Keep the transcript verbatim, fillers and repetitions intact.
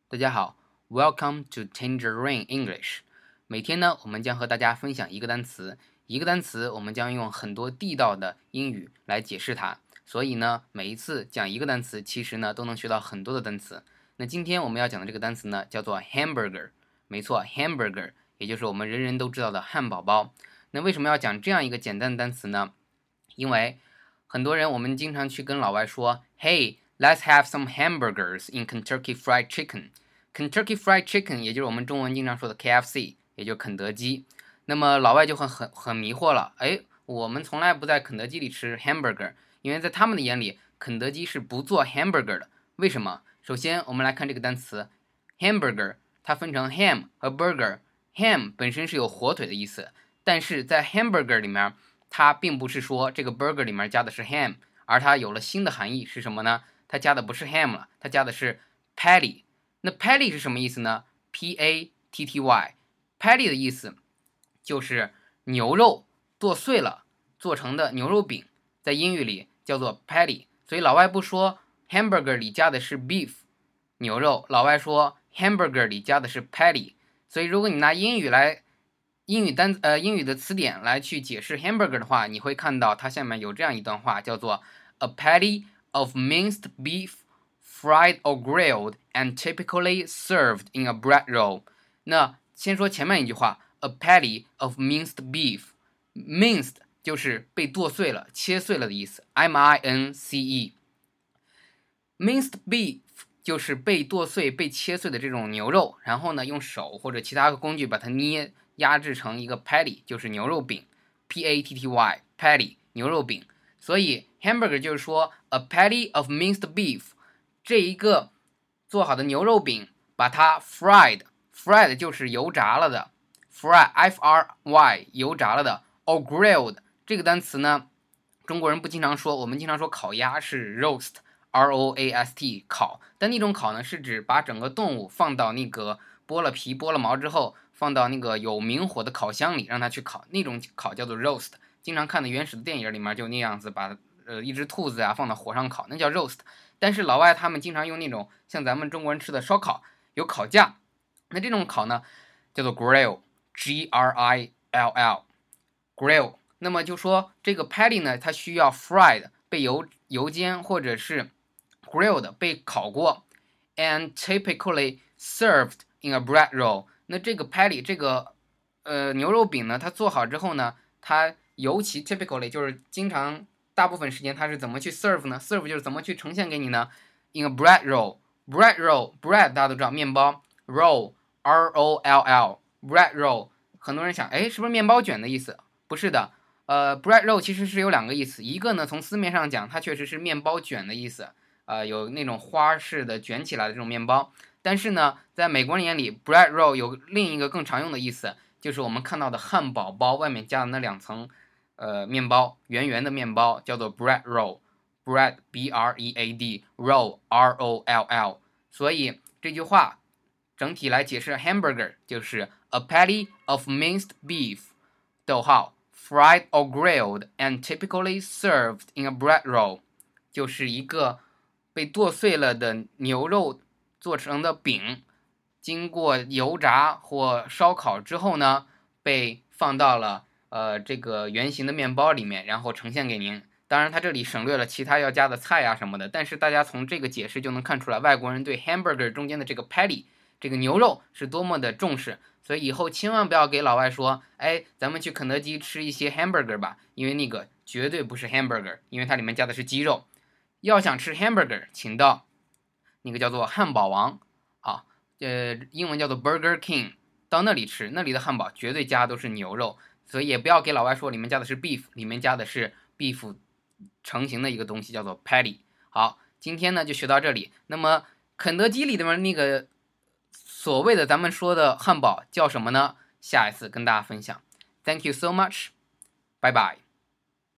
大家好 ，Welcome to Tangerine English。每天呢，我们将和大家分享一个单词，一个单词我们将用很多地道的英语来解释它。所以呢，每一次讲一个单词，其实呢都能学到很多的单词。那今天我们要讲的这个单词呢，叫做 hamburger。没错 ，hamburger， 也就是我们人人都知道的汉堡包。那为什么要讲这样一个简单的单词呢？因为很多人我们经常去跟老外说 ，Hey。Let's have some hamburgers in Kentucky Fried Chicken。Kentucky Fried Chicken 也就是我们中文经常说的 K F C， 也就是肯德基。那么老外就很很很迷惑了，哎，我们从来不在肯德基里吃 hamburger， 因为在他们的眼里，肯德基是不做 hamburger 的。为什么？首先我们来看这个单词 hamburger， 它分成 ham 和 burger。ham 本身是有火腿的意思，但是在 hamburger 里面，它并不是说这个 burger 里面加的是 ham， 而它有了新的含义是什么呢？它加的不是 ham 了，它加的是 patty。那 patty 是什么意思呢？ P A T T Y。patty 的意思就是牛肉剁碎了做成的牛肉饼，在英语里叫做 patty。所以老外不说 hamburger 里加的是 beef 牛肉，老外说 hamburger 里加的是 patty。所以如果你拿英语来英语单呃英语的词典来去解释 hamburger 的话，你会看到它下面有这样一段话，叫做 a patty of minced beef, fried or grilled, and typically served in a bread roll。 那先说前面一句话 a patty of minced beef。 minced 就是被剁碎了切碎了的意思， M I N C E。 minced beef 就是被剁碎被切碎的这种牛肉，然后呢用手或者其他的工具把它捏压制成一个 patty， 就是牛肉饼， P A T T Y patty 牛肉饼。所以 hamburger 就是说 a patty of minced beef， 这一个做好的牛肉饼把它 fried fried 就是油炸了的， fry F R Y 油炸了的， or grilled 这个单词呢中国人不经常说，我们经常说烤鸭是 roast R O A S T 烤，但那种烤呢是指把整个动物放到那个剥了皮剥了毛之后放到那个有明火的烤箱里让它去烤，那种烤叫做 roast。经常看的原始的电影里面就那样子把呃一只兔子啊放到火上烤，那叫 roast。 但是老外他们经常用那种像咱们中国人吃的烧烤，有烤架，那这种烤呢叫做 grill G R I L L grill。 那么就说这个 patty 呢它需要 fried 被油油煎或者是 grilled 被烤过， and typically served in a bread roll。 那这个 patty 这个呃牛肉饼呢它做好之后呢，它尤其 typically 就是经常大部分时间它是怎么去 serve 呢？ serve 就是怎么去呈现给你呢？ in a bread roll。 bread roll bread 大家都知道面包， roll R O L L bread roll。 很多人想哎是不是面包卷的意思？不是的，呃 bread roll 其实是有两个意思，一个呢从字面上讲它确实是面包卷的意思，呃有那种花式的卷起来的这种面包，但是呢在美国人眼里 bread roll 有另一个更常用的意思，就是我们看到的汉堡包外面加的那两层呃，面包圆圆的面包叫做 bread roll， bread B R E A D roll R O L L。 所以这句话整体来解释 hamburger 就是 a patty of minced beef 逗号 fried or grilled and typically served in a bread roll， 就是一个被剁碎了的牛肉做成的饼，经过油炸或烧烤之后呢被放到了呃，这个圆形的面包里面，然后呈现给您。当然它这里省略了其他要加的菜啊什么的，但是大家从这个解释就能看出来外国人对 hamburger 中间的这个 patty 这个牛肉是多么的重视。所以以后千万不要给老外说哎咱们去肯德基吃一些 hamburger 吧，因为那个绝对不是 hamburger， 因为它里面加的是鸡肉。要想吃 hamburger 请到那个叫做汉堡王啊，呃，英文叫做 Burger King， 到那里吃，那里的汉堡绝对加都是牛肉。所以也不要给老外说里面加的是 beef， 里面加的是 beef 成型的一个东西叫做 patty。 好，今天呢就学到这里。那么肯德基里面那个所谓的咱们说的汉堡叫什么呢？下一次跟大家分享。 Thank you so much， 拜拜。